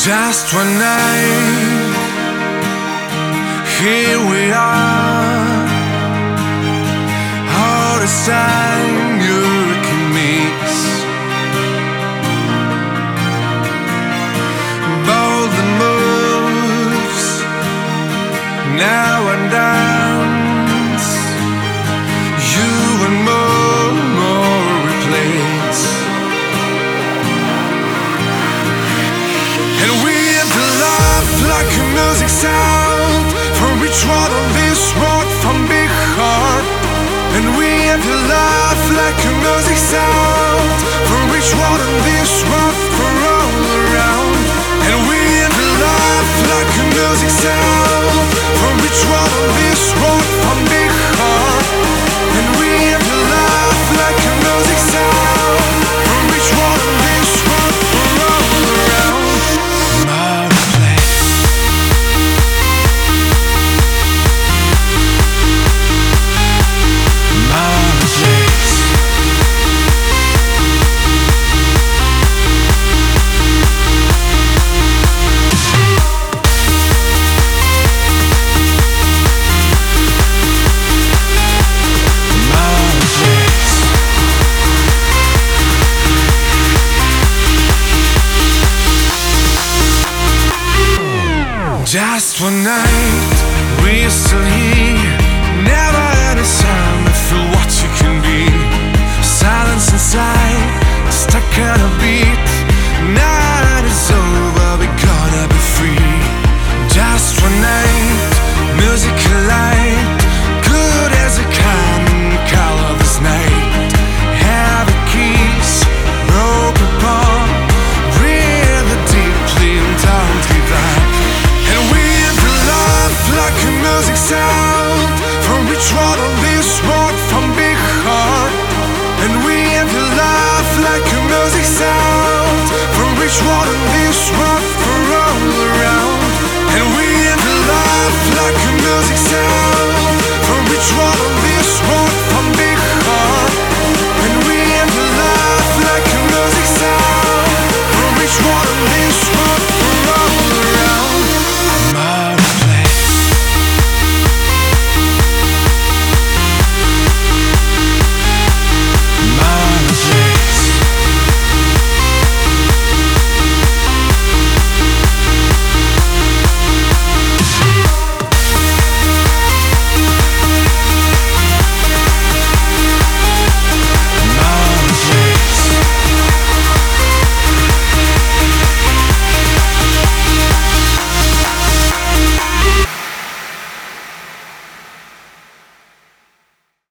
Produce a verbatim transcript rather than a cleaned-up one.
Just one night, here we are. All this time you can mix bold the moves, now and dance. You and more, more replace. And we have to laugh like a music sound from each one of this road from big heart. And we have to laugh like a music sound from each one of this road for all around. And we have to laugh like a music sound from each one of this road from big heart. And we have to laugh like a music sound from each one of this road for all around. Just one night, we're still here. Never had a sound to feel what you can be. Silence inside, stuck on a beat. Night is over, we gotta be free. Just one night, music light, good as a can, color this night. Have a kiss, broke apart, breathe deeply and don't give up. Like a music sound from each one of this road from big heart. And we have to laugh like a music sound from each one of this